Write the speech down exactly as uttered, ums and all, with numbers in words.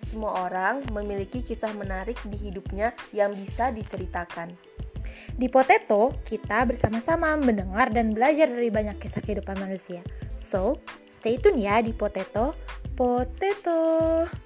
Semua orang memiliki kisah menarik di hidupnya yang bisa diceritakan. Di Potato, kita bersama-sama mendengar dan belajar dari banyak kisah kehidupan manusia. So, stay tune ya di Potato. Potato.